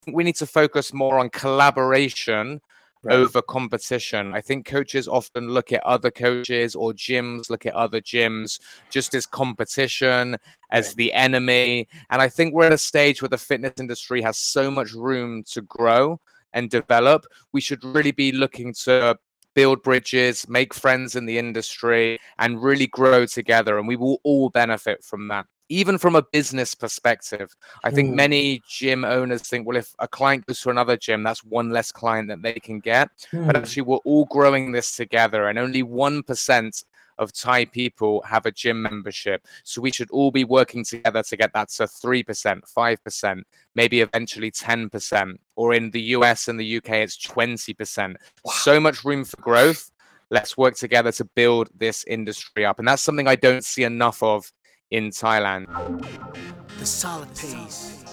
we need to focus more on collaboration Right. over competition. I think coaches often look at other coaches or gyms, look at other gyms just as competition, as Right. the enemy. And I think we're at a stage where the fitness industry has so much room to grow and develop. We should really be looking to build bridges, make friends in the industry, and really grow together. And we will all benefit from that. Even from a business perspective, I think many gym owners think, well, if a client goes to another gym, that's one less client that they can get. But actually, we're all growing this together, and only 1% of Thai people have a gym membership. So we should all be working together to get that to 3%, 5%, maybe eventually 10%. Or in the US and the UK, it's 20%. So much room for growth. Let's work together to build this industry up. And that's something I don't see enough of in Thailand. The solid pace.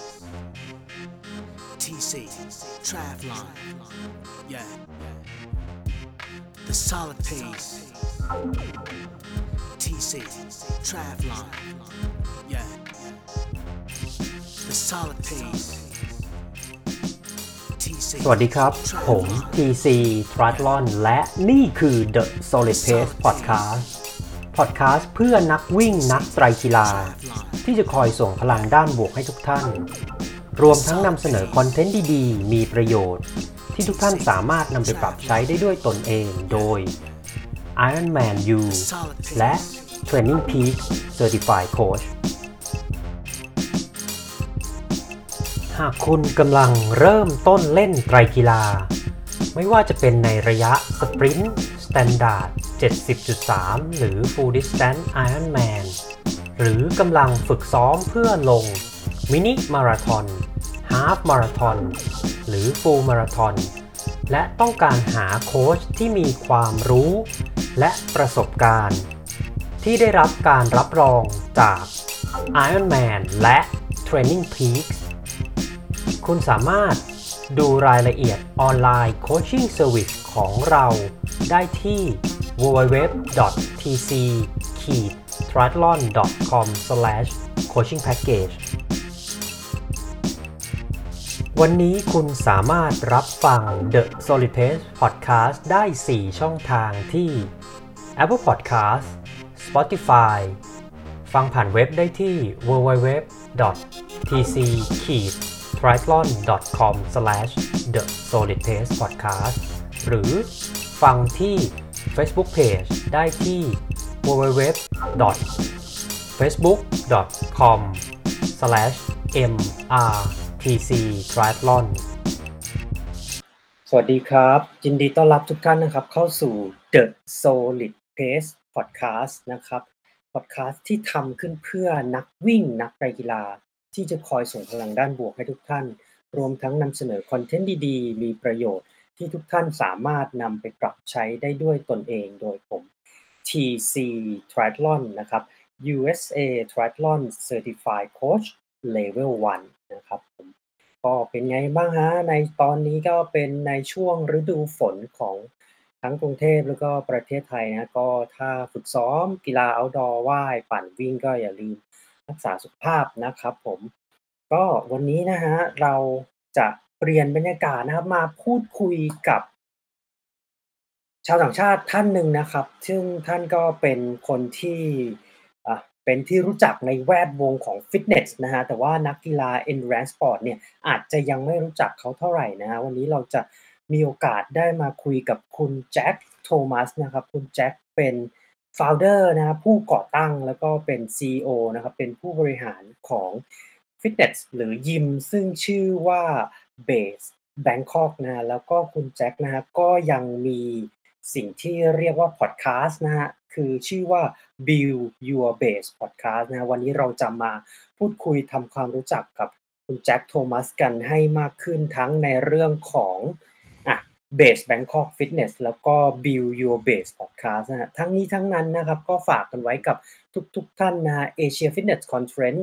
TC. Triathlon. Yeah. The solid pace. TC. Triathlon. Yeah. The solid pace. TC. สวัสดีครับผม TC Triathlon และนี่คือ The Solid Pace Podcast เพื่อนักวิ่งนักไตรกีฬาที่จะคอยส่งพลังด้านบวกให้ทุกท่านรวมทั้งนำเสนอคอนเทนต์ดีๆมีประโยชน์ที่ทุกท่านสามารถนำไปปรับใช้ได้ด้วยตนเองโดย Ironman U และ Training Peaks Certified Coach หากคุณกำลังเริ่มต้นเล่นไตรกีฬาไม่ว่าจะเป็นในระยะสปรินต์ Standard 70.3 หรือ Full Distance Ironman หรือกำลังฝึกซ้อมเพื่อลงมินิมาราธอนฮาล์ฟมาราธอนหรือฟูลมาราธอนและต้องการหาโค้ชที่มีความรู้และประสบการณ์ที่ได้รับการรับรองจาก Ironman และ Training Peaks คุณสามารถดูรายละเอียดออนไลน์โคชชิ่งเซอร์วิสของเราได้ที่ www.tc-triathlon.com/coachingpackage วันนี้คุณสามารถรับฟัง The Solid Pace Podcast ได้ 4 ช่องทางที่ Apple Podcast Spotify ฟังผ่านเว็บได้ที่ www.tc-triathlon.com/thesolidpacepodcast หรือฟังที่ Facebook Page ได้ที่ www.facebook.com/mrtctriathlon สวัสดีครับยินดีต้อนรับทุกท่านนะครับเข้าสู่ The Solid Pace Podcast นะครับ Podcast ที่ทำขึ้นเพื่อนักวิ่งนักกีฬาที่จะคอยส่งพลังด้านบวกให้ทุกท่านรวมทั้งนำเสนอคอนเทนต์ดีๆมีประโยชน์ที่ทุกท่านสามารถนำไปปรับใช้ได้ด้วยตนเองโดยผม TC Triathlon นะครับ USA Triathlon Certified Coach Level 1 นะครับผมก็เป็นไงบ้างฮะในตอนนี้ก็เป็นในช่วงฤดูฝนของทั้งกรุงเทพแล้วก็ประเทศไทยนะก็ถ้าฝึกซ้อมกีฬา outdoor ว่ายปั่นวิ่งก็อย่าลืมรักษาสุขภาพนะครับผมก็วันนี้นะฮะเราจะเปลี่ยนบรรยากาศนะครับมาพูดคุยกับชาวต่างชาติท่านหนึ่งนะครับซึ่งท่านก็เป็นคนที่เป็นที่รู้จักในแวดวงของฟิตเนสนะฮะแต่ว่านักกีฬา Endurance Sport เนี่ยอาจจะยังไม่รู้จักเขาเท่าไหร่นะฮะวันนี้เราจะมีโอกาสได้มาคุยกับคุณแจ็คโทมัสนะครับคุณแจ็คเป็น founder นะครับผู้ก่อตั้งแล้วก็เป็น CEO นะครับเป็นผู้บริหารของฟิตเนสหรือยิมซึ่งชื่อว่า Base Bangkok นะฮะแล้วก็คุณแจ็คนะฮะก็ยังมีสิ่งที่เรียกว่าพอดแคสต์นะฮะคือชื่อว่า Build Your Base Podcast นะวันนี้เราจะมาพูดคุยทำความรู้จักกับคุณแจ็คโทมัสกันให้มากขึ้นทั้งในเรื่องของBase Bangkok Fitness แล้วก็ Build Your Base Podcast นะฮะทั้งนี้ทั้งนั้นนะครับก็ฝากกันไว้กับทุกท่านนะฮะ Asia Fitness Conference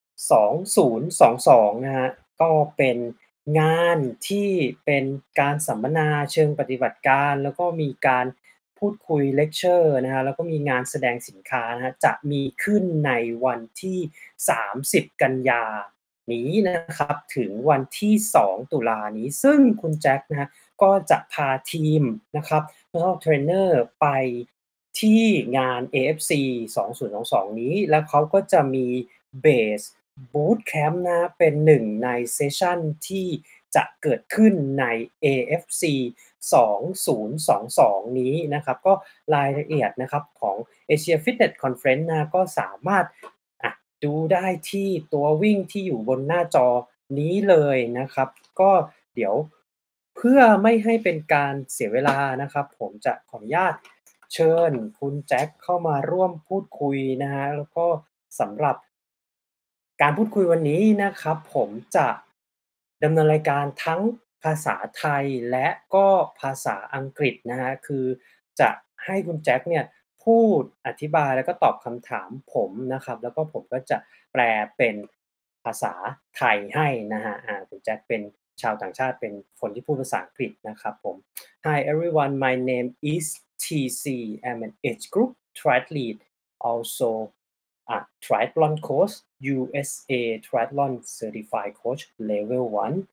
2022นะฮะก็เป็นงานที่เป็นการสัมมนาเชิงปฏิบัติการแล้วก็มีการพูดคุยเลคเชอร์นะฮะแล้วก็มีงานแสดงสินค้านะฮะจะมีขึ้นในวันที่30กันยานี้นะครับถึงวันที่2ตุลานี้ซึ่งคุณแจ็คนะฮะก็จะพาทีมนะครับ Personal Trainer ไปที่งาน AFC 2022นี้แล้วเขาก็จะมี Base Bootcamp นะเป็นหนึ่งในเซสชันที่จะเกิดขึ้นใน AFC 2022นี้นะครับก็รายละเอียดนะครับของ Asia Fitness Conference นะก็สามารถดูได้ที่ตัววิ่งที่อยู่บนหน้าจอนี้เลยนะครับก็เดี๋ยวเพื่อไม่ให้เป็นการเสียเวลานะครับผมจะขออนุญาตเชิญคุณแจ็คเข้ามาร่วมพูดคุยนะฮะแล้วก็สำหรับการพูดคุยวันนี้นะครับผมจะดำเนินรายการทั้งภาษาไทยและก็ภาษาอังกฤษนะฮะคือจะให้คุณแจ็คเนี่ยพูดอธิบายแล้วก็ตอบคำถามผมนะครับแล้วก็ผมก็จะแปลเป็นภาษาไทยให้นะฮะคุณแจ็คเป็นชาวต่างชาติเป็นคนที่พูดภาษาอังกฤษนะครับผม Hi everyone, my name is TC. I'm an age group triathlete, also a triathlon coach, USA Triathlon Certified Coach Level 1.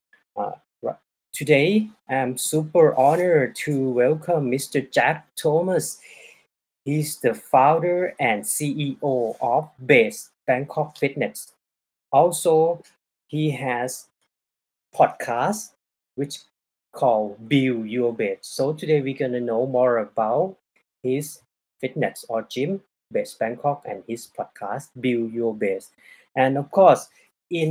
Today, I'm super honored to welcome Mr. Jack Thomas. He's the founder and CEO of Base Bangkok Fitness. Also, he has podcast which called Build Your Base. So today we're gonna know more about his fitness or gym, Base Bangkok, and his podcast Build Your Base. And of course, in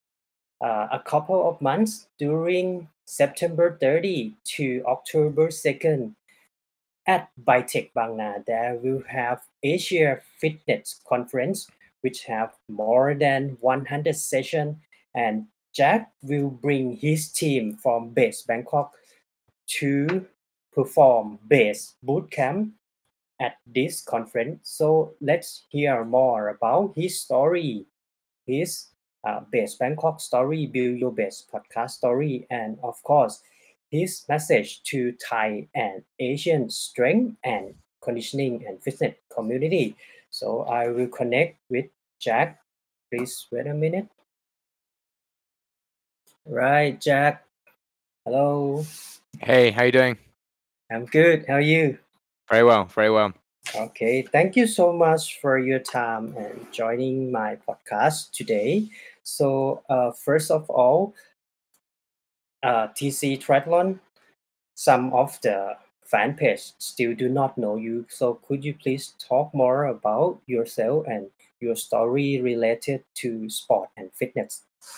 a couple of months during September 30 to October 2nd at Bitech Bang Na, there will have Asia Fitness Conference, which have more than 100 sessions, and Jack will bring his team from Base Bangkok to perform Base Bootcamp at this conference. So let's hear more about his story, his Base Bangkok story, Build Your Base podcast story, and of course, his message to Thai and Asian strength and conditioning and fitness community. So I will connect with Jack. Please wait a minute. Right, Jack. Hello. Hey, how you doing? I'm good. How are you? Very well, very well. Okay, thank you so much for your time and joining my podcast today. So, first of all, TC Triathlon, some of the fan page still do not know you. So, could you please talk more about yourself and your story related to sport and fitness?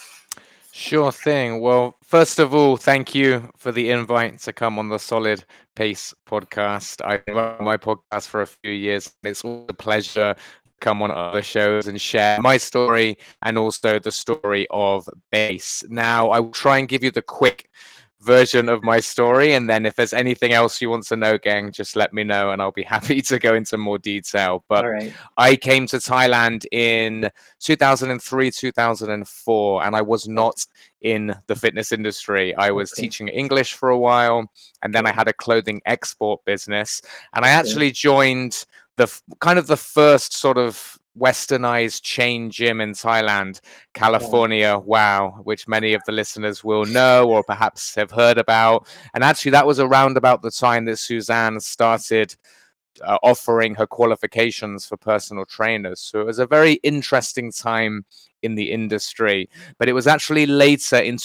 Sure thing. Well, first of all, thank you for the invite to come on the Solid Pace podcast. I've been running my podcast for a few years. It's always a pleasure to come on other shows and share my story and also the story of Base. Now, I will try and give you the quick version of my story, and then if there's anything else you want to know, gang, just let me know and I'll be happy to go into more detail. But All right. I came to Thailand in 2003, 2004, and I was not in the fitness industry. I was Okay. teaching English for a while, and then I had a clothing export business, and I actually joined the kind of the first sort of westernized chain gym in Thailand, California Wow, which many of the listeners will know or perhaps have heard about. And actually that was around about the time that Suzanne started offering her qualifications for personal trainers. So it was a very interesting time in the industry. But it was actually later in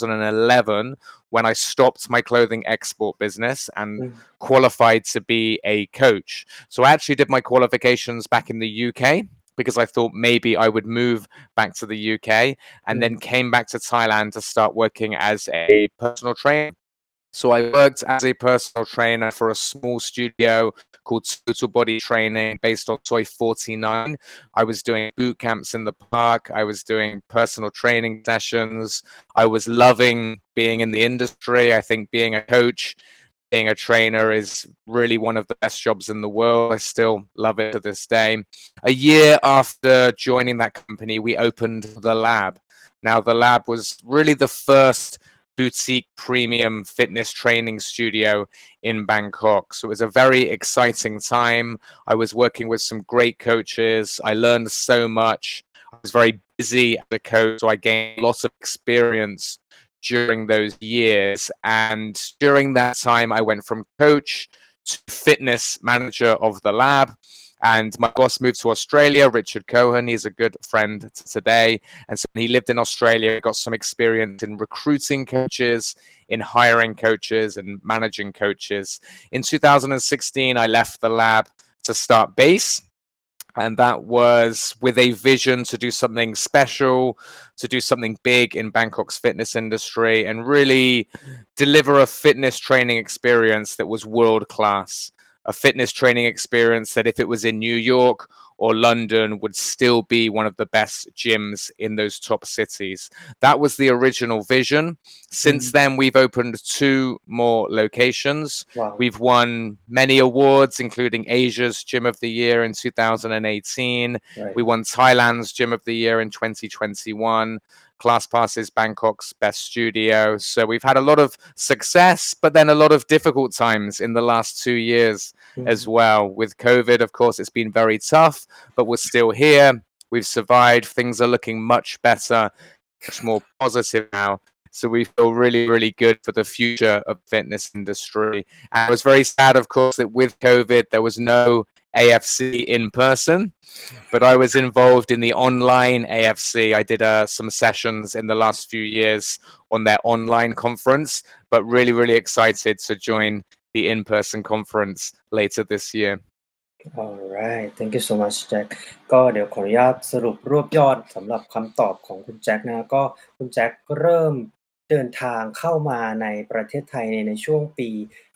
2011 when I stopped my clothing export business and qualified to be a coach. So I actually did my qualifications back in the UK because I thought maybe I would move back to the UK, and then came back to Thailand to start working as a personal trainer. So I worked as a personal trainer for a small studio called Total Body Training based on Soy 49. I was doing boot camps in the park. I was doing personal training sessions. I was loving being in the industry. I think being a coach, being a trainer is really one of the best jobs in the world. I still love it to this day. A year after joining that company, we opened the lab. Now, the lab was really the first boutique premium fitness training studio in Bangkok. So it was a very exciting time. I was working with some great coaches. I learned so much. I was very busy as a coach, so I gained lots of experience during those years. And during that time, I went from coach to fitness manager of the lab. And my boss moved to Australia, Richard Cohen. He's a good friend today. And so he lived in Australia, got some experience in recruiting coaches, in hiring coaches, and managing coaches. In 2016, I left the lab to start Base. And that was with a vision to do something special, to do something big in Bangkok's fitness industry, and really deliver a fitness training experience that was world class. A fitness training experience that, if it was in New York or London, would still be one of the best gyms in those top cities. That was the original vision. Since then, we've opened 2 more locations. Wow. We've won many awards, including Asia's Gym of the Year in 2018. Right. We won Thailand's Gym of the Year in 2021. ClassPass is Bangkok's best studio. So we've had a lot of success, but then a lot of difficult times in the last 2 years as well. With COVID, of course, it's been very tough, but we're still here. We've survived. Things are looking much better, much more positive now. So we feel really, really good for the future of the fitness industry. And I was very sad, of course, that with COVID, there was no AFC in person, but I was involved in the online AFC. I did some sessions in the last few years on their online conference, but really, really excited to join the in-person conference later this year. Alright thank you so much แจ็คก็เดี๋ยวขออนุญาตสรุปรวบยอดสำหรับคำตอบของคุณแจ็คนะก็คุณแจ็คเริ่มเดินทางเข้ามาในประเทศไทยในช่วงปี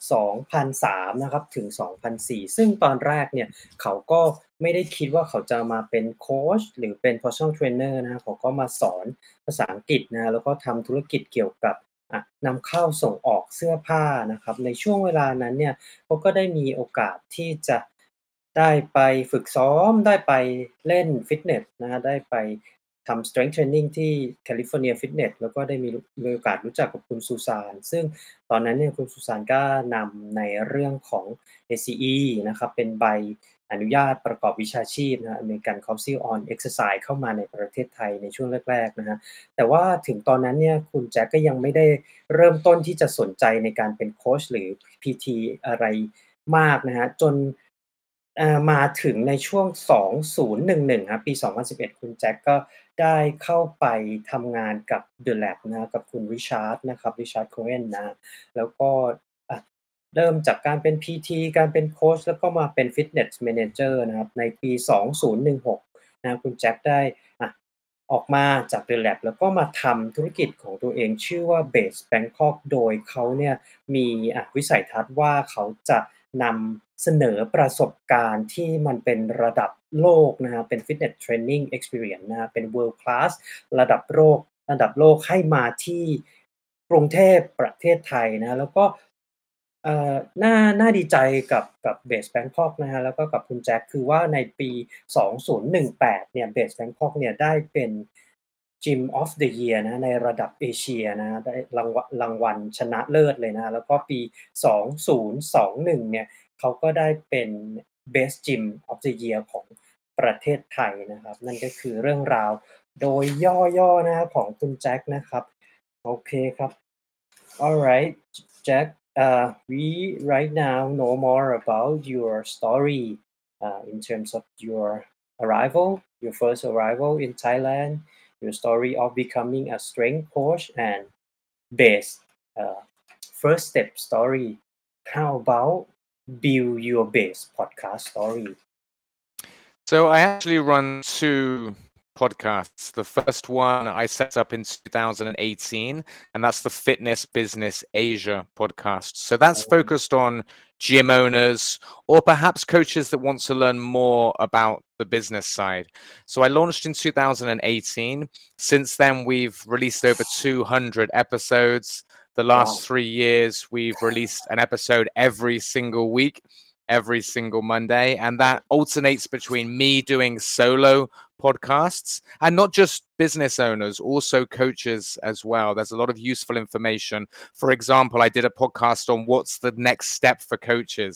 2003 นะครับถึง 2004 ซึ่งตอนแรกเนี่ยเขาก็ไม่ได้คิดว่าเขาจะมาเป็นโค้ชหรือเป็น personal trainer นะเขาก็มาสอนภาษาอังกฤษนะแล้วก็ทำธุรกิจเกี่ยวกับนำเข้าส่งออกเสื้อผ้านะครับในช่วงเวลานั้นเนี่ยเขาก็ได้มีโอกาสที่จะได้ไปฝึกซ้อมได้ไปเล่นฟิตเนสนะฮะได้ไปทำ strength training ที่ California Fitness แล้วก็ได้มีโอกาสรู้จักกับคุณซูซานซึ่งตอนนั้นเนี่ยคุณซูซานก็นำในเรื่องของ ACE นะครับเป็นใบอนุญาตประกอบวิชาชีพนะ American Council on Exercise เข้ามาในประเทศไทยในช่วงแรกๆนะฮะแต่ว่าถึงตอนนั้นเนี่ยคุณแจ็คก็ยังไม่ได้เริ่มต้นที่จะสนใจในการเป็นโค้ชหรือ PT อะไรมากนะฮะจนมาถึงในช่วง 2011 ครับปี 2011 คุณแจ็คก็ได้เข้าไปทำงานกับ The Lab นะกับคุณริชาร์ดนะครับ Richard Cohen นะแล้วก็เริ่มจากการเป็น PT การเป็นโค้ชแล้วก็มาเป็น Fitness Manager นะครับในปี 2016 นะคุณแจ็คได้ออกมาจาก The Lab แล้วก็มาทำธุรกิจของตัวเองชื่อว่า Base Bangkok โดยเขาเนี่ยมีวิสัยทัศน์ว่าเขาจะนำเสนอประสบการณ์ที่มันเป็นระดับโลกนะฮะเป็น Fitness Training Experience นะฮะเป็น World Class ระดับโลกให้มาที่กรุงเทพประเทศไทยนะแล้วก็น่าดีใจกับ Base Bangkok นะฮะแล้วก็กับคุณแจ็คคือว่าในปี 2018 เนี่ย Base Bangkok เนี่ยได้เป็น Gym of the Year นะในระดับเอเชียนะได้รางวัลชนะเลิศเลยนะแล้วก็ปี 2021 เนี่ยเขาก็ได้เป็น Best Gym of the Year ของประเทศไทยนะครับนั่นก็คือเรื่องราวโดยย่อๆนะของคุณแจ็คนะครับโอเคครับ Alright Jack we right now know more about your story in terms of your first arrival in Thailand, your story of becoming a strength coach and base first step story. How about build your base podcast story? So I actually run 2 podcasts. The first one I set up in 2018, and that's the Fitness Business Asia podcast. So that's focused on gym owners or perhaps coaches that want to learn more about the business side. So I launched in 2018. Since then, we've released over 200 episodes. The last 3 years, we've released an episode every single week, every single Monday, and that alternates between me doing solo podcasts and not just business owners, also coaches as well. There's a lot of useful information. For example, I did a podcast on what's the next step for coaches.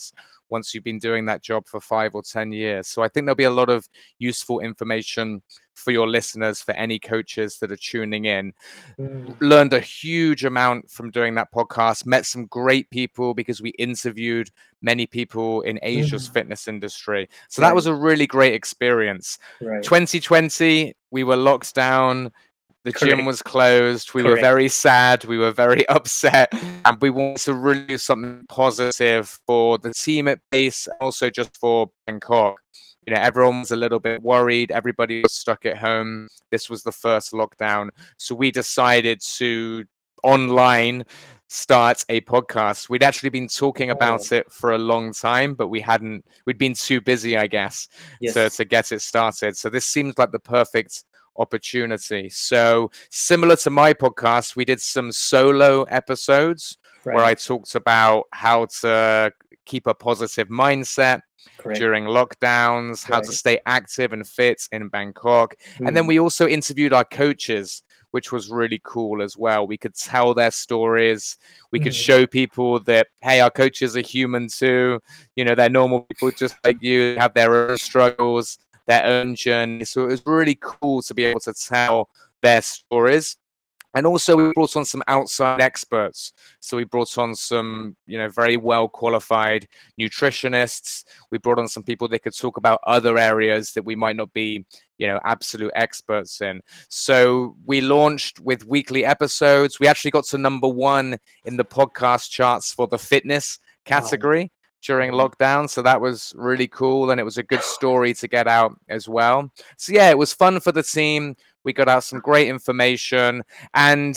once you've been doing that job for 5 or 10 years. So I think there'll be a lot of useful information for your listeners, for any coaches that are tuning in. Learned a huge amount from doing that podcast, met some great people because we interviewed many people in Asia's fitness industry. So that was a really great experience. Right. 2020, we were locked down. The gym Correct. was closed. We were Correct. very sad. We were very upset. And we wanted to really do something positive for the team at base, also just for Bangkok. You know, everyone was a little bit worried. Everybody was stuck at home. This was the first lockdown. So we decided to online start a podcast. We'd actually been talking about it for a long time, but we'd been too busy, I guess, to get it started. So this seems like the perfect opportunity. So similar to my podcast, we did some solo episodes where I talked about how to keep a positive mindset during lockdowns, how to stay active and fit in Bangkok. And then we also interviewed our coaches, which was really cool as well. We could tell their stories. We could show people that, hey, our coaches are human too. You know, they're normal people just like you, have their own struggles, their own journey. So it was really cool to be able to tell their stories. And also we brought on some outside experts. So we brought on some, you know, very well qualified nutritionists. We brought on some people that could talk about other areas that we might not be, you know, absolute experts in. So we launched with weekly episodes. We actually got to #1 in the podcast charts for the fitness category during lockdown. So that was really cool. And it was a good story to get out as well. So yeah, it was fun for the team. We got out some great information, and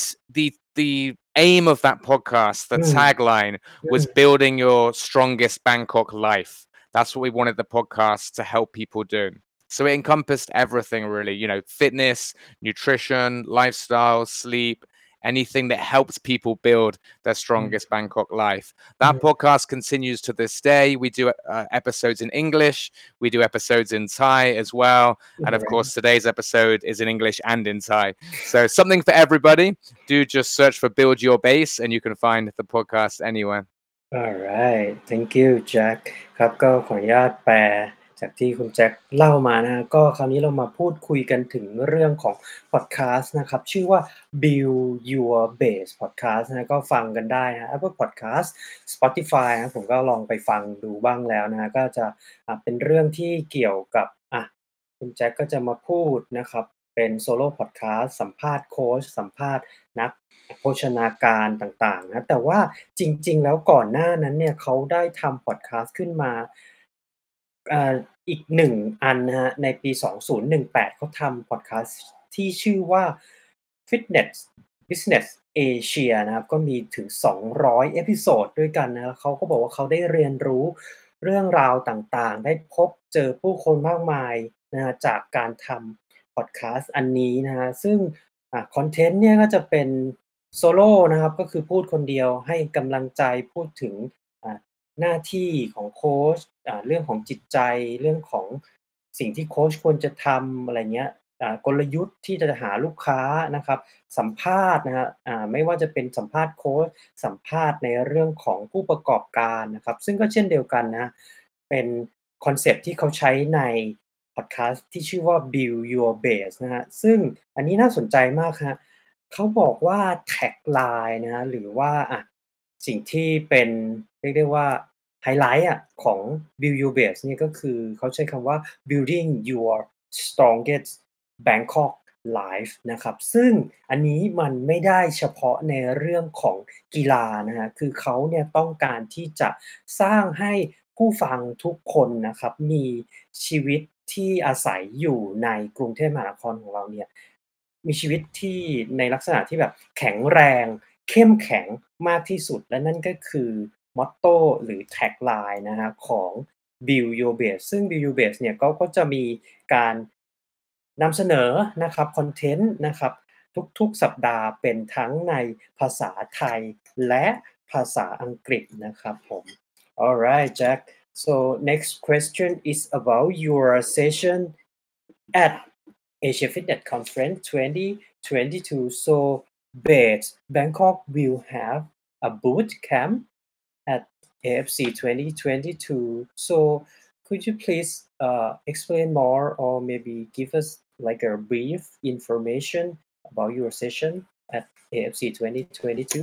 the aim of that podcast, the tagline was building your strongest Bangkok life. That's what we wanted the podcast to help people do. So it encompassed everything really, you know, fitness, nutrition, lifestyle, sleep, anything that helps people build their strongest Bangkok life. That podcast continues to this day. We do episodes in English. We do episodes in Thai as well. And of course, today's episode is in English and in Thai. So something for everybody. Do just search for Build Your Base and you can find the podcast anywhere. Alright thank you Jack ครับก็ขออนุญาตแปลจากที่คุณแจ็คเล่ามานะก็คราวนี้เรามาพูดคุยกันถึงเรื่องของพอดแคสต์นะครับชื่อว่า Build Your Base Podcast นะก็ฟังกันได้นะ Apple Podcast Spotify นะผมก็ลองไปฟังดูบ้างแล้วนะก็จะเป็นเรื่องที่เกี่ยวกับคุณแจ็คก็จะมาพูดนะครับเป็นโซโล่พอดแคสต์สัมภาษณ์โค้ชสัมภาษณ์นักโภชนาการต่างๆนะแต่ว่าจริงๆแล้วก่อนหน้านั้นเนี่ยเขาได้ทำพอดแคสต์ขึ้นมาอีก1อันนะครับในปี2018เขาทำพอดแคสต์ที่ชื่อว่า Fitness Business Asia นะครับก็มีถึง200เอพิโซดด้วยกันนะเขาก็บอกว่าเขาได้เรียนรู้เรื่องราวต่างๆได้พบเจอผู้คนมากมายนะจากการทำพอดแคสต์อันนี้นะฮะซึ่งคอนเทนต์เนี่ยก็จะเป็นโซโล่นะครับก็คือพูดคนเดียวให้กำลังใจพูดถึงหน้าที่ของโค้ชเรื่องของจิตใจเรื่องของสิ่งที่โค้ชควรจะทำอะไรเงี้ยกลยุทธ์ที่จะหาลูกค้านะครับสัมภาษณ์นะครับไม่ว่าจะเป็นสัมภาษณ์โค้ชสัมภาษณ์ในเรื่องของผู้ประกอบการนะครับซึ่งก็เช่นเดียวกันนะเป็นคอนเซปต์ที่เขาใช้ในพอดแคสต์ที่ชื่อว่า Build Your Base นะฮะซึ่งอันนี้น่าสนใจมากครับเขาบอกว่าแท็กไลน์นะหรือว่าสิ่งที่เป็นเรียกได้ว่าไฮไลท์ของ Build Your Base เนี่ยก็คือเขาใช้คำว่า building your strongest Bangkok life นะครับซึ่งอันนี้มันไม่ได้เฉพาะในเรื่องของกีฬานะฮะคือเขาเนี่ยต้องการที่จะสร้างให้ผู้ฟังทุกคนนะครับมีชีวิตที่อาศัยอยู่ในกรุงเทพมหานครของเราเนี่ยมีชีวิตที่ในลักษณะที่แบบแข็งแรงเข้มแข็งมากที่สุดและนั่นก็คือมอตโตหรือแท็กไลน์นะฮะของ Build Your Base ซึ่ง Build Your Base เนี่ยก็จะมีการนำเสนอนะครับคอนเทนต์นะครับทุกๆสัปดาห์เป็นทั้งในภาษาไทยและภาษาอังกฤษนะครับผม Alright Jack so next question is about your session at Asia Fitness Conference 2022 so Base Bangkok will have a boot camp at AFC 2022. So could you please explain more or maybe give us like a brief information about your session at AFC 2022?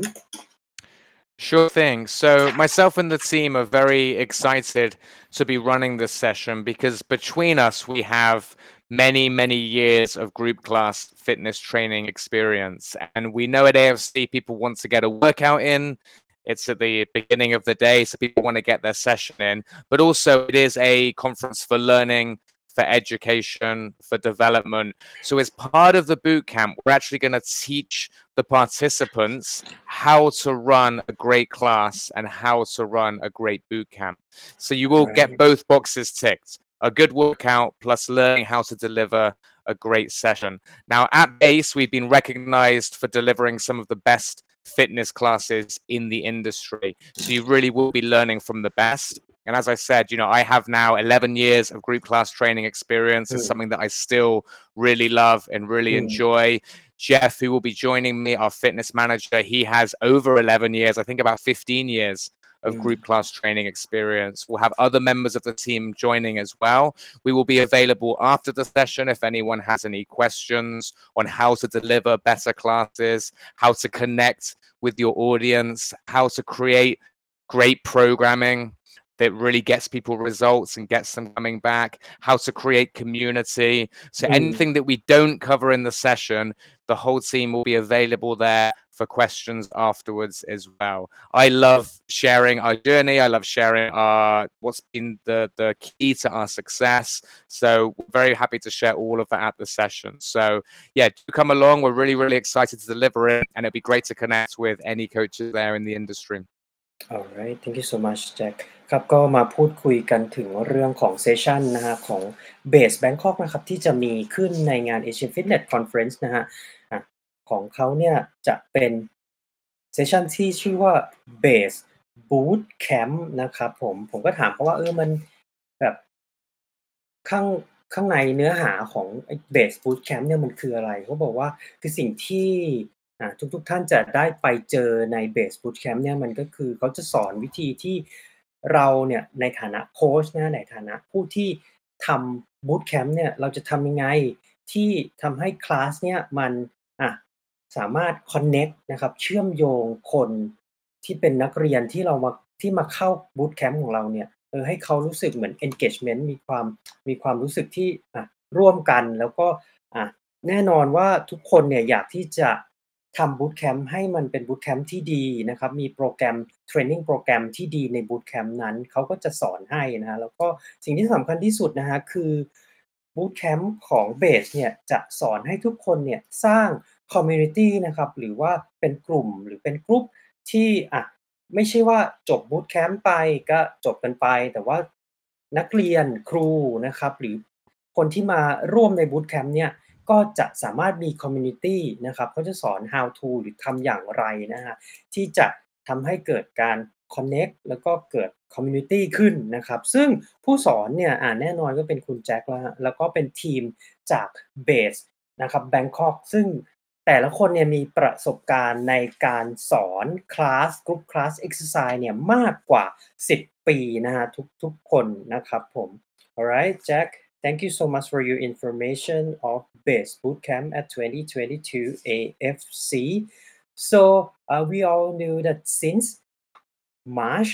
Sure thing. So myself and the team are very excited to be running this session because between us, we have many, many years of group class fitness training experience. And we know at AFC, people want to get a workout in. It's at the beginning of the day, so people want to get their session in. But also, it is a conference for learning, for education, for development. So as part of the boot camp, we're actually going to teach the participants how to run a great class and how to run a great boot camp. So you will get Right. both boxes ticked, a good workout plus learning how to deliver a great session. Now at Base, we've been recognized for delivering some of the best fitness classes in the industry. So you really will be learning from the best. And as I said, I have now 11 years of group class training experience. It's Mm, something that I still really love and really mm, enjoy. Jeff, who will be joining me, our fitness manager, he has over 11 years, I think about 15 years of mm. group class training experience. We'll have other members of the team joining as well. We will be available after the session if anyone has any questions on how to deliver better classes, how to connect with your audience, how to create great programming that really gets people results and gets them coming back, how to create community. So Mm. anything that we don't cover in the session, the whole team will be available there for questions afterwards as well. I love sharing our journey. I love sharing what's been the key to our success. So we're very happy to share all of that at the session. So yeah, do come along. We're really, really excited to deliver it, and it'd be great to connect with any coaches there in the industry. Alright thank you so much Jack ครับก็มาพูดคุยกันถึงเรื่องของเซสชันนะฮะของ Base Bangkok นะครับที่จะมีขึ้นในงาน Asian Fitness Conference นะฮะของเขาเนี่ยจะเป็นเซสชันที่ชื่อว่า Base Boot Camp นะครับผมก็ถามเขาว่ามันแบบข้างข้างในเนื้อหาของไอ้ Base Boot Camp เนี่ยมันคืออะไรเขาบอกว่าคือสิ่งที่ทุกท่านจะได้ไปเจอใน Base Boot Camp เนี่ยมันก็คือเขาจะสอนวิธีที่เราเนี่ยในฐานะโคชนะในฐานะผู้ที่ทำ Boot Camp เนี่ยเราจะทำยังไงที่ทำให้คลาสเนี่ยมันสามารถคอนเน็กต์นะครับเชื่อมโยงคนที่เป็นนักเรียนที่มาเข้า Boot Camp ของเราเนี่ยให้เขารู้สึกเหมือน engagement มีความรู้สึกที่ร่วมกันแล้วก็แน่นอนว่าทุกคนเนี่ยอยากที่จะทำ Boot Camp ให้มันเป็น Boot Camp ที่ดีนะครับมีโปรแกรมเทรนนิงโปรแกรมที่ดีใน Boot Camp นั้นเขาก็จะสอนให้นะแล้วก็สิ่งที่สำคัญที่สุดนะคะคือ Boot Camp ของ Base เนี่ยจะสอนให้ทุกคนเนี่ยสร้างคอมมิวนิตีนะครับหรือว่าเป็นกลุ่มหรือเป็นกรุ๊ปที่ไม่ใช่ว่าจบ Boot Camp ไปก็จบกันไปแต่ว่านักเรียนครูนะครับหรือคนที่มาร่วมใน Boot Camp เนี่ยก็จะสามารถมีคอมมิวนิตีนะครับเขาจะสอน how to หรือทำอย่างไรนะคะที่จะทำให้เกิดการคอนเน็กต์แล้วก็เกิดคอมมิวนิตีขึ้นนะครับซึ่งผู้สอนเนี่ยแน่นอนก็เป็นคุณแจ็คแล้วก็เป็นทีมจาก Base นะครับ Bangkok ซึ่งแต่ละคนเนี่ยมีประสบการณ์ในการสอนคลาสกรุ๊ปคลาสเอ็กซ์ไซส์เนี่ยมากกว่า10 ปีนะฮะทุกคนนะครับผม Alright Jack thank you so much for your information of Base Bootcamp at 2022 AFC so we all knew that since March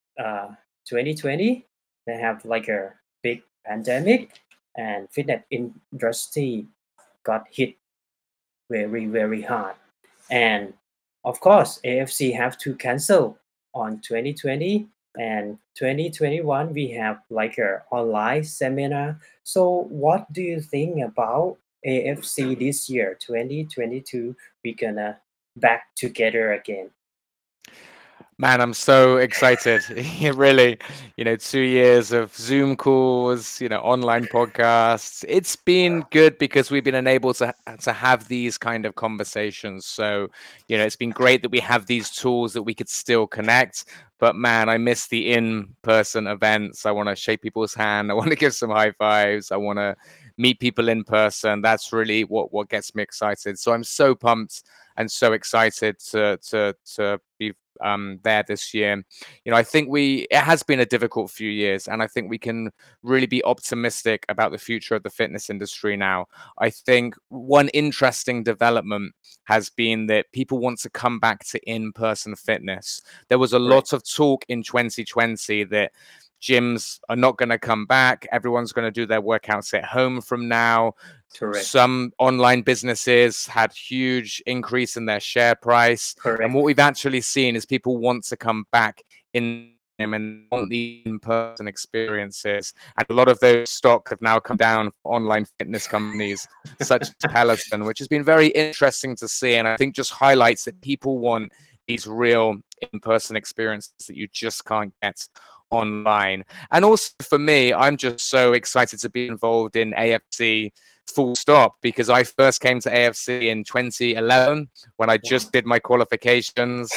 2020 they have like a big pandemic and fitness industry got hit very very hard and of course AFC have to cancel on 2020 and 2021 we have like a online seminar so what do you think about AFC this year 2022 we're gonna back together again Man, I'm so excited. Really, 2 years of Zoom calls, online podcasts. It's been good because we've been unable to have these kind of conversations. So, it's been great that we have these tools that we could still connect. But man, I miss the in-person events. I want to shake people's hand. I want to give some high fives. I want to meet people in person. That's really what gets me excited. So I'm so pumped and so excited to be there this year. I think it has been a difficult few years, and I think we can really be optimistic about the future of the fitness industry now. I think one interesting development has been that people want to come back to in-person fitness. There was a lot of talk in 2020 that gyms are not going to come back. Everyone's going to do their workouts at home from now. Correct. Some online businesses had huge increase in their share price. Correct. And what we've actually seen is people want to come back in and want the in-person experiences. And a lot of those stocks have now come down for online fitness companies such as Peloton, which has been very interesting to see. And I think just highlights that people want these real in-person experiences that you just can't get online. And also for me, I'm just so excited to be involved in AFC full stop, because I first came to AFC in 2011 when I just did my qualifications,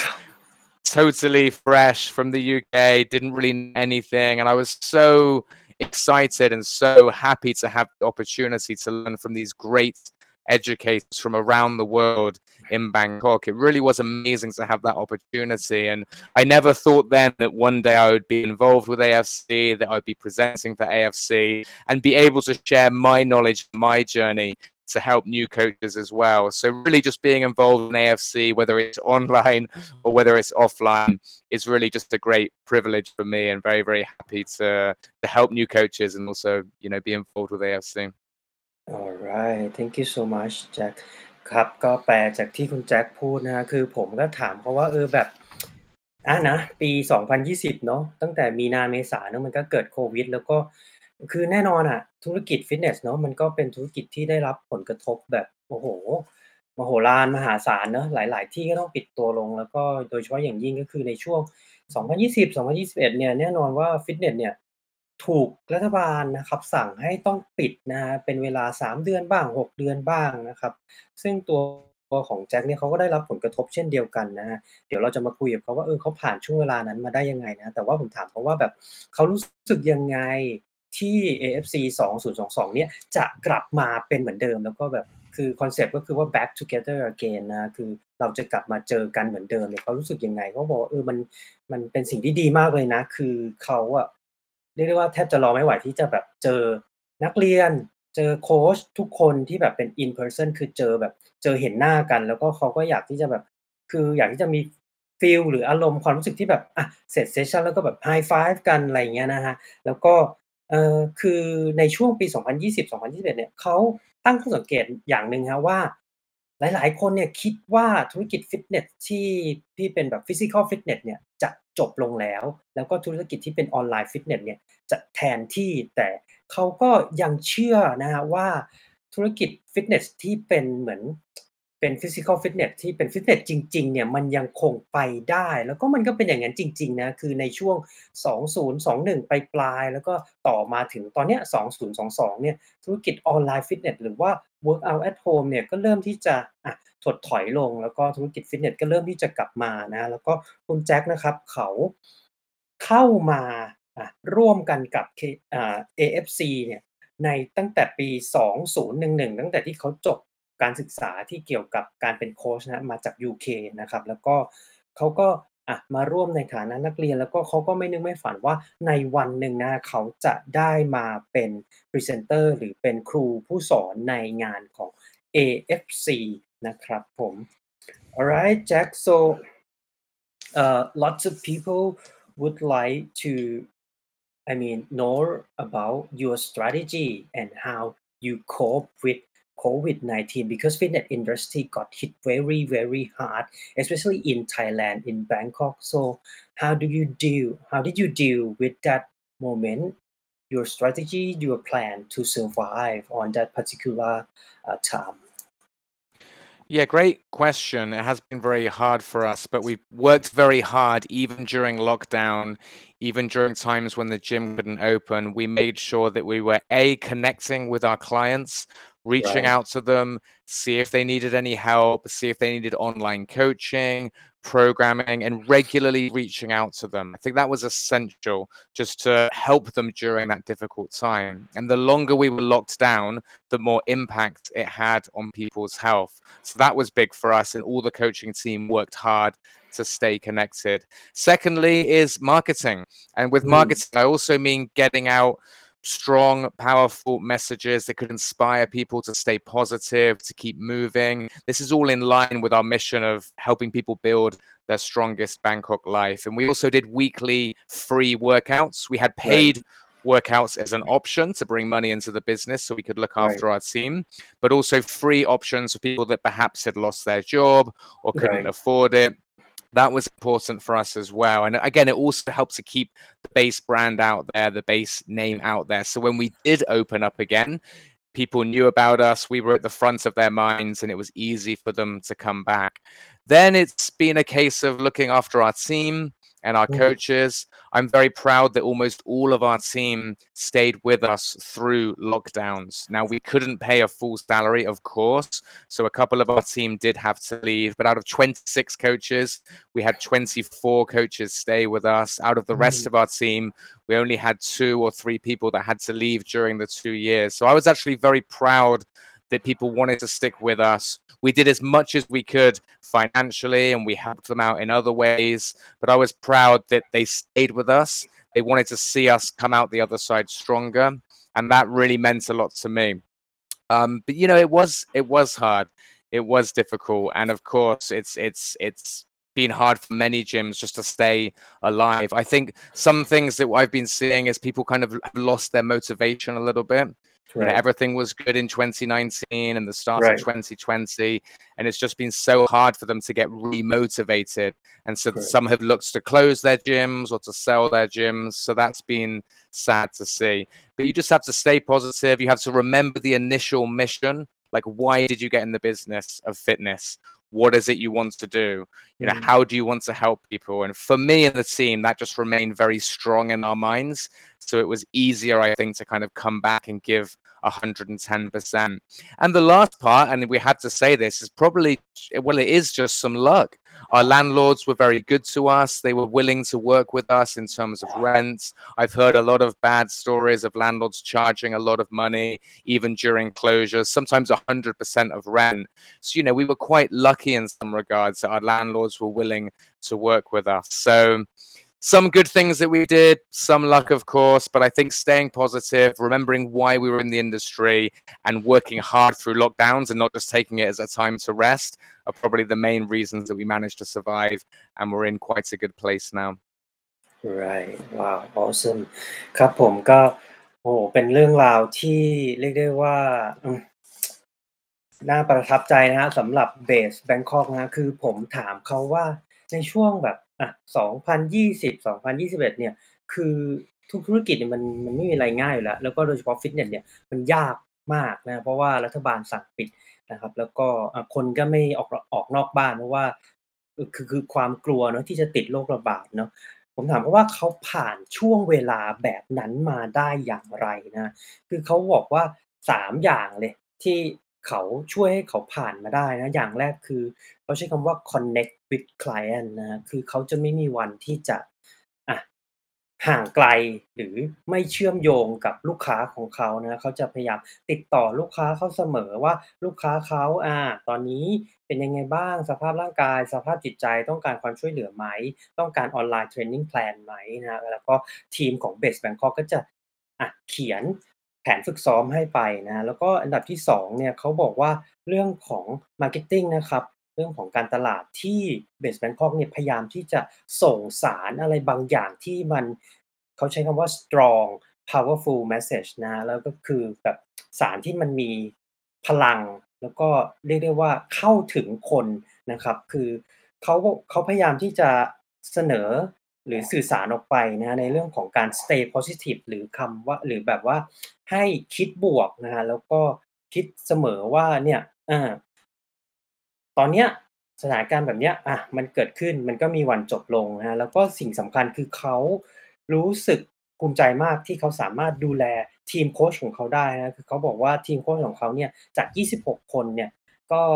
totally fresh from the UK, didn't really know anything. And I was so excited and so happy to have the opportunity to learn from these great educators from around the world in Bangkok. It really was amazing to have that opportunity. And I never thought then that one day I would be involved with AFC, that I'd be presenting for AFC and be able to share my knowledge, my journey to help new coaches as well. So really just being involved in AFC, whether it's online or whether it's offline, is really just a great privilege for me, and very, very happy to help new coaches and also, be involved with AFC. Alright thank you so much แจ็คครับก็แปลจากที่คุณแจ็คพูดนะคือผมก็ถามเขาว่าแบบนะปี2020เนาะตั้งแต่มีนาเมษาเนาะมันก็เกิดโควิดแล้วก็คือแน่นอนธุรกิจฟิตเนสเนาะมันก็เป็นธุรกิจที่ได้รับผลกระทบแบบโอ้โฮมโหฬารมหาศาลเนาะหลายๆที่ก็ต้องปิดตัวลงแล้วก็โดยเฉพาะอย่างยิ่งก็คือในช่วง2020-2021เนี่ยแน่นอนว่าฟิตเนสเนี่ยถูกรัฐบาลนะครับสั่งให้ต้องปิดนะครับเป็นเวลา3เดือนบ้าง6เดือนบ้างนะครับซึ่งตัวของแจ็คเนี่ยเขาก็ได้รับผลกระทบเช่นเดียวกันนะครับเดี๋ยวเราจะมาคุยกับเขาว่าเขาผ่านช่วงเวลานั้นมาได้ยังไงนะแต่ว่าผมถามเขาว่าแบบเขารู้สึกยังไงที่ AFC 2022เนี่ยจะกลับมาเป็นเหมือนเดิมแล้วก็แบบคือคอนเซปต์ก็คือว่า back together again นะคือเราจะกลับมาเจอกันเหมือนเดิมเนี่ยเขารู้สึกยังไงเขาบอกว่ามันเป็นสิ่งที่ดีมากเลยนะคือเขาเรียกได้ว่าแทบจะรอไม่ไหวที่จะแบบเจอนักเรียนเจอโคชทุกคนที่แบบเป็น in person คือเจอเห็นหน้ากันแล้วก็เขาก็อยากที่จะแบบคืออยากที่จะมีฟีลหรืออารมณ์ความรู้สึกที่แบบเสร็จเซสชันแล้วก็แบบ high five กันอะไรอย่างเงี้ยนะครับแล้วก็คือในช่วงปี2020-2021เนี่ยเขาตั้งข้อสังเกตอย่างหนึ่งครับว่าหลายๆคนเนี่ยคิดว่าธุรกิจฟิตเนสที่เป็นแบบ physical fitness เนี่ยจะจบลงแล้วก็ธุรกิจที่เป็นออนไลน์ฟิตเนสเนี่ยจะแทนที่แต่เขาก็ยังเชื่อนะครับว่าธุรกิจฟิตเนสที่เป็นเหมือนเป็น physical fitness ที่เป็นฟิตเนสจริงๆเนี่ยมันยังคงไปได้แล้วก็มันก็เป็นอย่างนั้นจริงๆนะคือในช่วง2021ปลายๆแล้วก็ต่อมาถึงตอนเนี้ย2022เนี่ยธุรกิจออนไลน์ฟิตเนสหรือว่า workout at home เนี่ยก็เริ่มที่จะถดถอยลงแล้วก็ธุรกิจฟิตเนสก็เริ่มที่จะกลับมานะแล้วก็คุณแจ็คนะครับเขาเข้ามาร่วมกันกับAFC เนี่ยในตั้งแต่ปี2011ตั้งแต่ที่เขาจบการศึกษาที่เกี่ยวกับการเป็นโคชนะมาจาก UK นะครับแล้วก็เขาก็มาร่วมในฐานะนักเรียนแล้วก็เขาก็ไม่นึกไม่ฝันว่าในวันหนึ่งนะเขาจะได้มาเป็นพรีเซนเตอร์หรือเป็นครูผู้สอนในงานของ AFC นะครับผม Alright Jack so lots of people would like to know about your strategy and how you cope with COVID-19 because fitness industry got hit very, very hard, especially in Thailand, in Bangkok. So how did you deal with that moment, your strategy, your plan to survive on that particular time? Yeah, great question. It has been very hard for us, but we've worked very hard even during lockdown, even during times when the gym couldn't open. We made sure that we were connecting with our clients, reaching out to them, see if they needed any help, see if they needed online coaching. programming, and regularly reaching out to them. I think that was essential just to help them during that difficult time. And the longer we were locked down, the more impact it had on people's health. So that was big for us, and all the coaching team worked hard to stay connected. Secondly is marketing. And with marketing, I also mean getting out strong, powerful messages that could inspire people to stay positive, to keep moving. This is all in line with our mission of helping people build their strongest Bangkok life. And we also did weekly free workouts. We had paid workouts as an option to bring money into the business so we could look after our team, but also free options for people that perhaps had lost their job or couldn't afford it. That was important for us as well. And again, it also helps to keep the base brand out there, the base name out there. So when we did open up again, people knew about us. We were at the front of their minds, and it was easy for them to come back. Then it's been a case of looking after our team and our coaches. I'm very proud that almost all of our team stayed with us through lockdowns. Now, we couldn't pay a full salary, of course, so a couple of our team did have to leave, but out of 26 coaches, we had 24 coaches stay with us. Out of the rest of our team, we only had 2 or 3 people that had to leave during the 2 years. So I was actually very proud that people wanted to stick with us. We did as much as we could financially, and we helped them out in other ways, but I was proud that they stayed with us. They wanted to see us come out the other side stronger, and that really meant a lot to me. But you know, it was hard. It was difficult, and of course, it's been hard for many gyms just to stay alive. I think some things that I've been seeing is people kind of have lost their motivation a little bit. You know, everything was good in 2019 and the start of 2020, and it's just been so hard for them to get remotivated. And so some have looked to close their gyms or to sell their gyms. So that's been sad to see. But you just have to stay positive. You have to remember the initial mission. Like, why did you get in the business of fitness? What is it you want to do? You know, how do you want to help people? And for me and the team, that just remained very strong in our minds. So it was easier, I think, to kind of come back and give 110%. And the last part, and we had to say this, is probably, well, it is just some luck. Our landlords were very good to us. They were willing to work with us in terms of rent. I've heard a lot of bad stories of landlords charging a lot of money, even during closures, sometimes 100% of rent. So, you know, we were quite lucky in some regards that our landlords were willing to work with us. So some good things that we did, some luck, of course, but I think staying positive, remembering why we were in the industry, and working hard through lockdowns and not just taking it as a time to rest are probably the main reasons that we managed to survive, and we're in quite a good place now. Right. Wow. Awesome. ครับผมก็โอ้เป็นเรื่องราวที่เรียกได้ว่าน่าประทับใจนะฮะสำหรับเบสแบงคอกนะคือผมถามเขาว่าในช่วงแบบ2020 2021เนี่ยคือทุกธุรกิจเนี่ยมันไม่มีอะไรง่ายอยู่แล้วแล้วก็โดยเฉพาะฟิตเนสเนี่ยมันยากมากนะเพราะว่ารัฐบาลสั่งปิดนะครับแล้วก็คนก็ไม่ออกนอกบ้านเพราะว่าคือความกลัวเนาะที่จะติดโรคระบาดเนาะผมถามเขาว่าเขาผ่านช่วงเวลาแบบนั้นมาได้อย่างไรนะคือเขาบอกว่า3อย่างเลยที่เขาช่วยให้เขาผ่านมาได้นะอย่างแรกคือเขาใช้คำว่า connect with client นะครับคือเขาจะไม่มีวันที่จะอะห่างไกลหรือไม่เชื่อมโยงกับลูกค้าของเขานะเขาจะพยายามติดต่อลูกค้าเขาเสมอว่าลูกค้าเขาตอนนี้เป็นยังไงบ้างสภาพร่างกายสภาพจิตใจต้องการความช่วยเหลือไหมต้องการออนไลน์เทรนนิงแพลนไหมนะครับแล้วก็ทีมของ Base Bangkok ก็จะเขียนแผนฝึกซ้อมให้ไปนะแล้วก็อันดับที่2เนี่ยเขาบอกว่าเรื่องของ marketing นะครับเรื่องของการตลาดที่ Base Bangkok เนี่ยพยายามที่จะส่งสารอะไรบางอย่างที่มันเขาใช้คำว่า strong powerful message นะแล้วก็คือแบบสารที่มันมีพลังแล้วก็เรียกได้ว่าเข้าถึงคนนะครับคือเขาพยายามที่จะเสนอหรือสื่อสารออกไปนะในเรื่องของการ stay positive หรือคำว่าหรือแบบว่าให้คิดบวกนะครับแล้วก็คิดเสมอว่าเนี่ยตอนเนี้ยสถานการณ์แบบเนี้ยมันเกิดขึ้นมันก็มีวันจบลงนะครับแล้วก็สิ่งสำคัญคือเขารู้สึกภูมิใจมากที่เขาสามารถดูแลทีมโคชของเขาได้นะคือเขาบอกว่าทีมโคชของเขาเนี่ยจาก26คนเนี่ยก็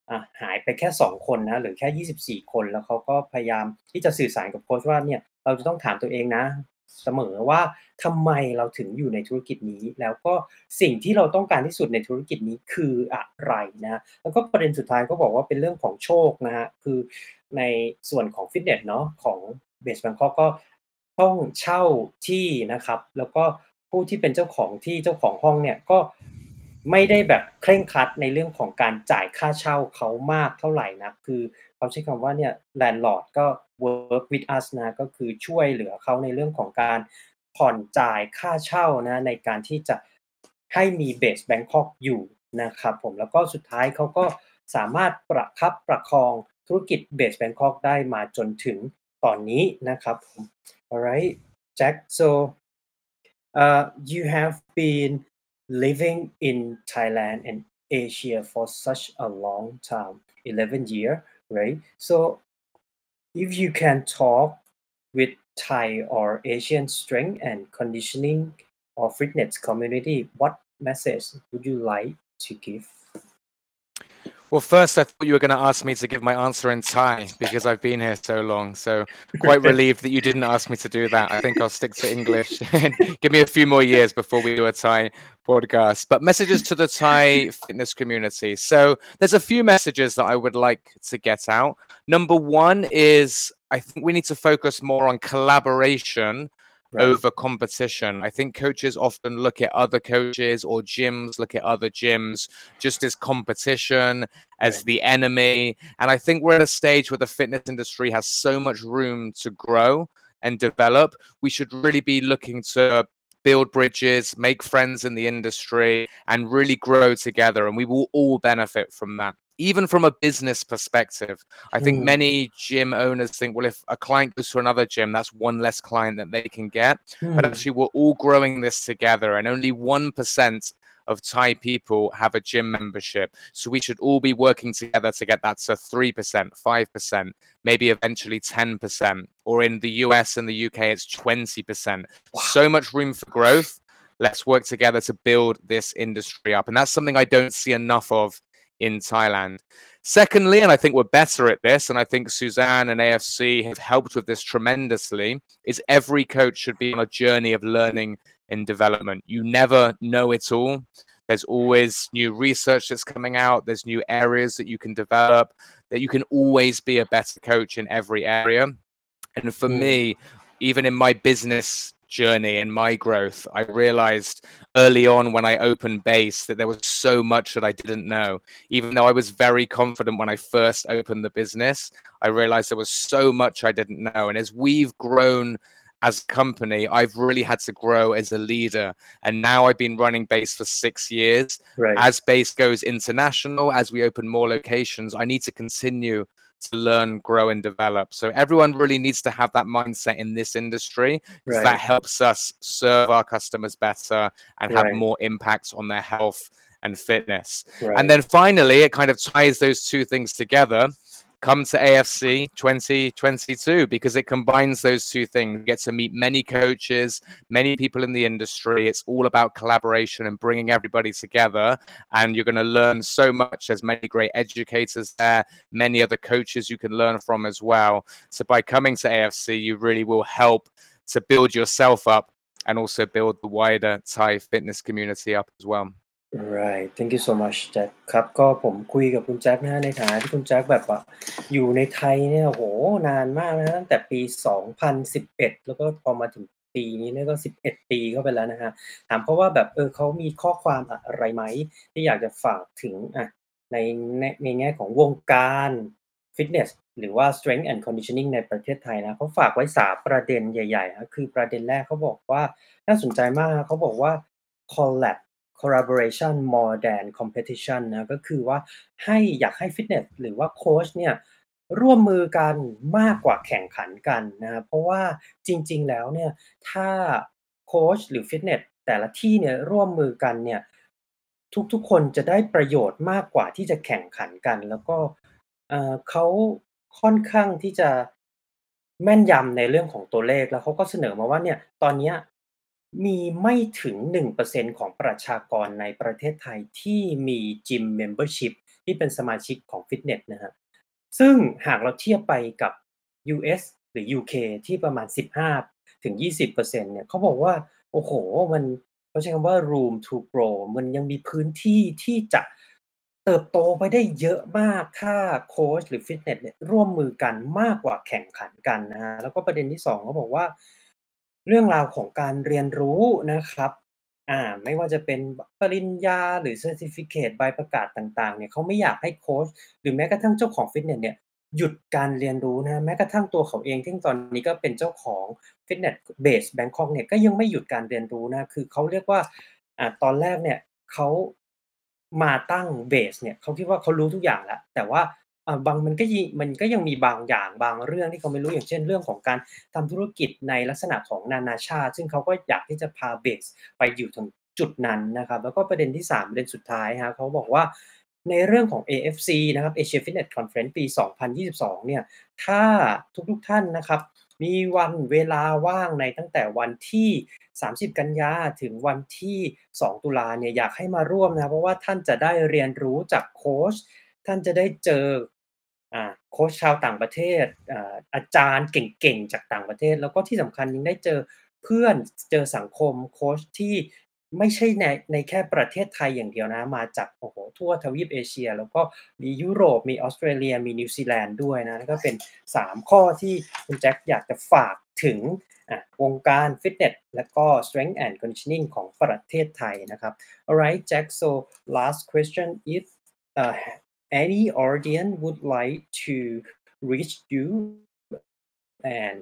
หายไปแค่2คนนะเหลือแค่24คนแล้วเขาก็พยายามที่จะสื่อสารกับโค้ชว่าเนี่ยเราจะต้องถามตัวเองนะเสมอว่าทำไมเราถึงอยู่ในธุรกิจนี้แล้วก็สิ่งที่เราต้องการที่สุดในธุรกิจนี้คืออะไรนะแล้วก็ประเด็นสุดท้ายก็บอกว่าเป็นเรื่องของโชคนะครับคือในส่วนของฟิตเนสเนาะของ Base Bangkok ก็ต้องเช่าที่นะครับแล้วก็ผู้ที่เป็นเจ้าของที่เจ้าของห้องเนี่ยก็ไม่ได้แบบเคร่งครัดในเรื่องของการจ่ายค่าเช่าเขามากเท่าไรนักคือเขาใช้คำว่าเนี่ย landlord ก็ work with us นะก็คือช่วยเหลือเขาในเรื่องของการผ่อนจ่ายค่าเช่านะในการที่จะให้มี Base Bangkok อยู่นะครับผมแล้วก็สุดท้ายเขาก็สามารถประคับประคองธุรกิจ Base Bangkok ได้มาจนถึงตอนนี้นะครับผม Alright Jack so you have been living in Thailand and Asia for such a long time 11 years right so if you can talk with Thai or Asian strength and conditioning or fitness community what message would you like to give Well, first, I thought you were going to ask me to give my answer in Thai because I've been here so long. So, quite relieved that you didn't ask me to do that. I think I'll stick to English and give me a few more years before we do a Thai podcast. But messages to the Thai fitness community. So, there's a few messages that I would like to get out. Number one is I think we need to focus more on collaboration over competition. I think coaches often look at other coaches or gyms, look at other gyms just as competition, as the enemy. And I think we're at a stage where the fitness industry has so much room to grow and develop. We should really be looking to build bridges, make friends in the industry, and really grow together. And we will all benefit from that. Even from a business perspective, I think many gym owners think, well, if a client goes to another gym, that's one less client that they can get. But actually, we're all growing this together, and only 1% of Thai people have a gym membership. So we should all be working together to get that to 3%, 5%, maybe eventually 10%. Or in the US and the UK, it's 20%. Wow. So much room for growth. Let's work together to build this industry up. And that's something I don't see enough of in Thailand. Secondly, and I think we're better at this, and I think Suzanne and AFC have helped with this tremendously, is every coach should be on a journey of learning and development. You never know it all. There's always new research that's coming out. There's new areas that you can develop, that you can always be a better coach in every area. And for me, even in my business journey and my growth, I realized early on when I opened Base that there was so much that I didn't know. Even though I was very confident when I first opened the business, I realized there was so much I didn't know. And as we've grown as a company, I've really had to grow as a leader. And now I've been running Base for 6 years. Right. As Base goes international, as we open more locations, I need to continue to learn, grow, and develop. So everyone really needs to have that mindset in this industry, because that helps us serve our customers better and have more impact on their health and fitness. And then finally, it kind of ties those two things together. Come to AFC 2022 because it combines those two things. You get to meet many coaches, many people in the industry. It's all about collaboration and bringing everybody together. And you're going to learn so much. There's many great educators there, many other coaches you can learn from as well. So by coming to AFC, you really will help to build yourself up and also build the wider Thai fitness community up as well. Right thank you so much แจ็คครับก็ผมคุยกับคุณแจ็คนะฮะในฐานะที่คุณแจ็คแบบว่าอยู่ในไทยเนี่ยโอ้โฮนานมากนะตั้งแต่ปี2011แล้วก็พอมาถึงปีนี้เนี่ยก็11ปีเข้าไปแล้วนะครับถามเขาว่าแบบเขามีข้อความอะไรไหมที่อยากจะฝากถึงในแง่ของวงการฟิตเนสหรือว่า Strength and Conditioning ในประเทศไทยนะเขาฝากไว้3ประเด็นใหญ่ๆครับคือประเด็นแรกเขาบอกว่าน่าสนใจมากเขาบอกว่า collaboration more than competition นะก็คือว่าอยากให้ฟิตเนสหรือว่าโคชเนี่ยร่วมมือกันมากกว่าแข่งขันกันนะครับเพราะว่าจริงๆแล้วเนี่ยถ้าโคชหรือฟิตเนสแต่ละที่เนี่ยร่วมมือกันเนี่ยทุกๆคนจะได้ประโยชน์มากกว่าที่จะแข่งขันกันแล้วก็เขาค่อนข้างที่จะแม่นยำในเรื่องของตัวเลขแล้วเขาก็เสนอมาว่าเนี่ยตอนเนี้ยมีไม่ถึง 1% ของประชากรในประเทศไทยที่มี Gym Membership ที่เป็นสมาชิกของฟิตเนสนะฮะซึ่งหากเราเทียบไปกับ US หรือ UK ที่ประมาณ 15-20%เนี่ยเขาบอกว่าโอ้โฮมันเขาใช้คำว่า room to grow มันยังมีพื้นที่ที่จะเติบโตไปได้เยอะมากถ้าโคชหรือฟิตเนสเนี่ยร่วมมือกันมากกว่าแข่งขันกันนะครับแล้วก็ประเด็นที่2เขาบอกว่าเรื่องราวของการเรียนรู้นะครับไม่ว่าจะเป็นปริญญาหรือเซอร์ทิฟิเคตใบประกาศต่างๆเนี่ยเขาไม่อยากให้โคชหรือแม้กระทั่งเจ้าของฟิตเนสเนี่ยหยุดการเรียนรู้นะครับแม้กระทั่งตัวเขาเองที่ตอนนี้ก็เป็นเจ้าของฟิตเนสเบสแบงคอกเนี่ยก็ยังไม่หยุดการเรียนรู้นะคือเขาเรียกว่าตอนแรกเนี่ยเขามาตั้งเบสเนี่ยเขาคิดว่าเขารู้ทุกอย่างแล้วแต่ว่ามันก็ยังมีบางอย่างบางเรื่องที่เขาไม่รู้อย่างเช่นเรื่องของการทำธุรกิจในลักษณะของนานาชาติซึ่งเขาก็อยากที่จะพาเบสไปอยู่ตรงจุดนั้นนะครับแล้วก็ประเด็นที่3ประเด็นสุดท้ายครับเขาบอกว่าในเรื่องของ AFC นะครับ Asia Fitness Conference ปี 2022 เนี่ยถ้าทุกๆท่านนะครับมีวันเวลาว่างในตั้งแต่วันที่30กันยาถึงวันที่2ตุลาเนี่ยอยากให้มาร่วมนะเพราะว่าท่านจะได้เรียนรู้จากโคชท่านจะได้เจอโคชชาวต่างประเทศอาจารย์เก่งๆจากต่างประเทศแล้วก็ที่สำคัญยังได้เจอเพื่อนเจอสังคมโคชที่ไม่ใช่ในแค่ประเทศไทยอย่างเดียวนะมาจากโอ้โฮทั่วทวีปเอเชียแล้วก็มียุโรปมีออสเตรเลียมีนิวซีแลนด์ด้วยนะนั่นก็เป็น3ข้อที่คุณแจ็คอยากจะฝากถึงวงการฟิตเนสแล้วก็ strength and conditioning ของประเทศไทยนะครับ Alright Jack so last question if any audience would like to reach you and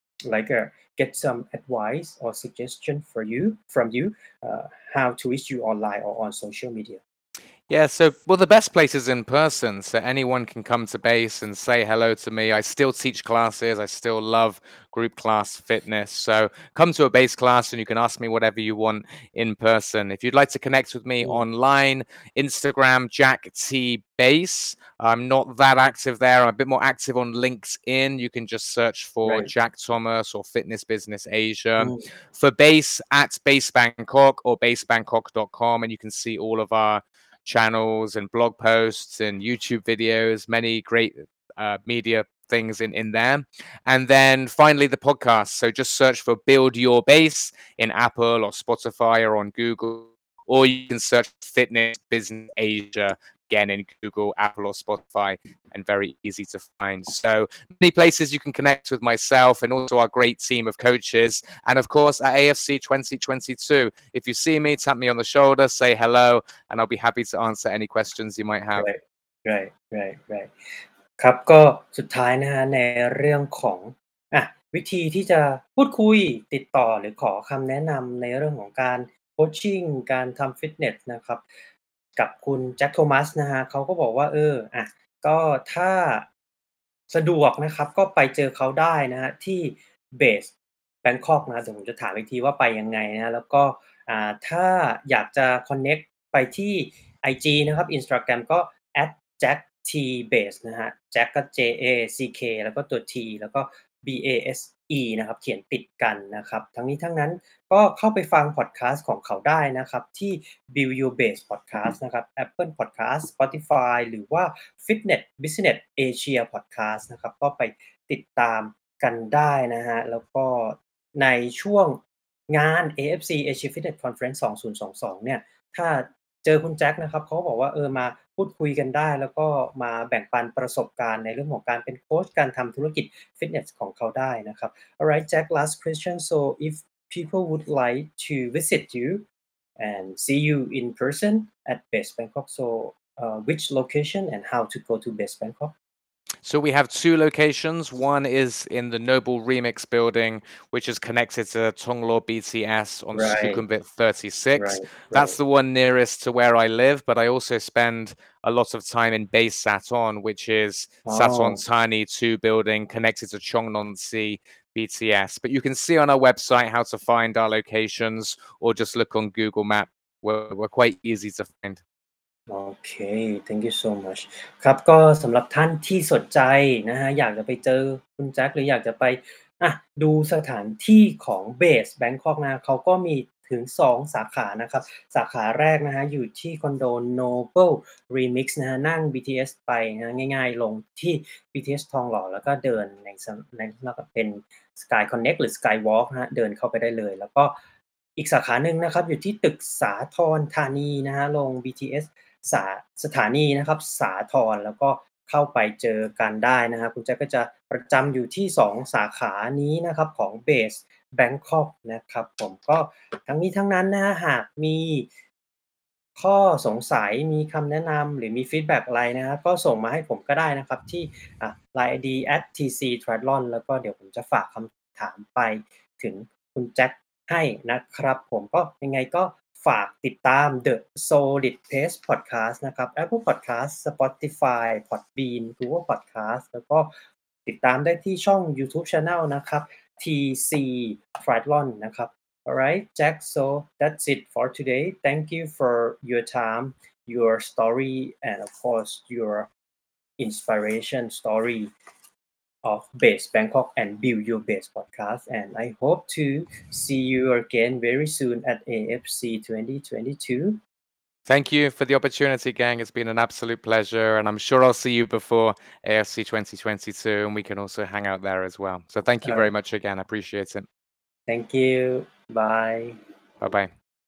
get some advice or suggestion from you how to reach you online or on social media. Yeah, so the best place is in person, so anyone can come to base and say hello to me. I still teach classes. I still love group class fitness. So come to a base class and you can ask me whatever you want in person. If you'd like to connect with me online, Instagram, Jack T Base. I'm not that active there. I'm a bit more active on LinkedIn. You can just search for Right. Jack Thomas or Fitness Business Asia. For Base, at Base Bangkok or basebangkok.com, and you can see all of our channels and blog posts and YouTube videos, many great media things in there. And then finally the podcast. So just search for Build Your Base in Apple or Spotify or on Google, or you can search Fitness Business Asia again in Google, Apple or Spotify, and very easy to find. So many places you can connect with myself and also our great team of coaches. And of course at AFC 2022, if you see me, tap me on the shoulder, say hello, and I'll be happy to answer any questions you might have. Right ครับก็สุดท้ายนะครับในเรื่องของวิธีที่จะพูดคุยติดต่อหรือขอคำแนะนำในเรื่องของการโคชชิงการทำฟิตเนสนะครับกับคุณแจ็คโทมัสนะครับเขาก็บอกว่าก็ถ้าสะดวกนะครับก็ไปเจอเขาได้นะครับที่เบสแบงคอกนะครับเดี๋ยวผมจะถามอีกทีว่าไปยังไงนะแล้วก็ถ้าอยากจะคอนเน็กต์ไปที่ไอจีนะครับ Instagram ก็ @jacktbase นะฮะ Jack ก็ JACK แล้วก็ตัว T แล้วก็ BASE นะครับเขียนติดกันนะครับทั้งนี้ทั้งนั้นก็เข้าไปฟังพอดคาสต์ของเขาได้นะครับที่ Build Your Base Podcast นะครับ Apple Podcast Spotify หรือว่า Fitness Business Asia Podcast นะครับก็ไปติดตามกันได้นะฮะแล้วก็ในช่วงงาน AFC Asia Fitness Conference 2022เนี่ยถ้าเจอคุณแจ็คนะครับเขาก็บอกว่ามาพูดคุยกันได้แล้วก็มาแบ่งปันประสบการณ์ในเรื่องของการเป็นโคชการทำธุรกิจฟิตเนสของเขาได้นะครับ Alright Jack last question so if people would like to visit you and see you in person at Base Bangkok so which location and how to go to Base Bangkok So we have two locations. One is in the Noble Remix building, which is connected to Tonglo BTS on Sukhumvit 36. That's the one nearest to where I live, but I also spend a lot of time in Base Saton, which is Saton Thani 2 building connected to Chongnonsi BTS. But you can see on our website how to find our locations or just look on Google Map. We're quite easy to find. โอเค thank you so much ครับก็สำหรับท่านที่สนใจนะฮะอยากจะไปเจอคุณแจ็คหรืออยากจะไปดูสถานที่ของเบสแบงคอกนะเขาก็มีถึง2สาขานะครับสาขาแรกนะฮะอยู่ที่คอนโด Noble Remix นะฮะนั่ง BTS ไปนะง่ายๆลงที่ BTS ทองหล่อแล้วก็เดินในแล้วก็เป็น Sky Connect หรือ Skywalk นะฮะเดินเข้าไปได้เลยแล้วก็อีกสาขาหนึ่งนะครับอยู่ที่ตึกสาทรธานีนะฮะลง BTS สาสถานีนะครับสาทรแล้วก็เข้าไปเจอกันได้นะครับคุณแจ็คก็จะประจำอยู่ที่2สาขานี้นะครับของ Base Bangkok นะครับผมก็ทั้งนี้ทั้งนั้นนะฮะหากมีข้อสงสัยมีคำแนะนำหรือมีฟีดแบ็กอะไรนะครับก็ส่งมาให้ผมก็ได้นะครับที่LINE ID @tctriathlon แล้วก็เดี๋ยวผมจะฝากคำถามไปถึงคุณแจ็คให้นะครับผมก็ยังไงก็ฝากติดตาม The Solid Pace Podcast นะครับ Apple Podcast Spotify Podbean Google Podcast แล้วก็ติดตามได้ที่ช่อง YouTube Channel นะครับ TC Triathlon นะครับ Alright, Jack. So that's it for today. Thank you for your time, your story, and of course, your inspiration story of Base Bangkok and Build Your Base podcast. And I hope to see you again very soon at AFC 2022. Thank you for the opportunity, gang. It's been an absolute pleasure, and I'm sure I'll see you before AFC 2022, and we can also hang out there as well. So thank you very much again. I appreciate it. Thank you. Bye. Bye-bye.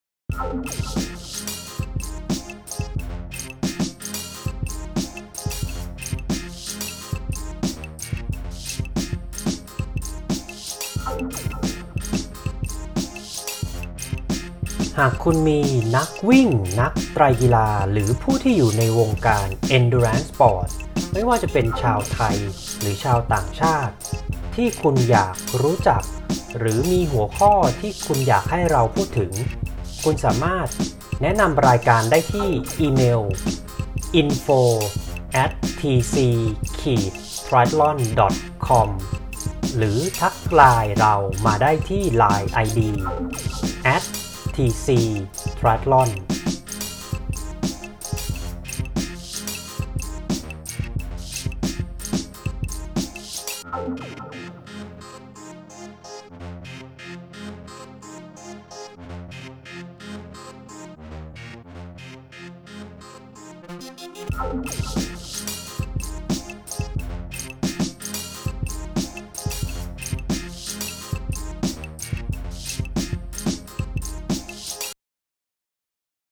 หากคุณมีนักวิ่งนักไตรกีฬาหรือผู้ที่อยู่ในวงการ Endurance Sport ไม่ว่าจะเป็นชาวไทยหรือชาวต่างชาติที่คุณอยากรู้จักหรือมีหัวข้อที่คุณอยากให้เราพูดถึงคุณสามารถแนะนำรายการได้ที่อีเมล info@tc-triathlon.com หรือทักไลน์เรามาได้ที่ LINE ID @tc-triathlon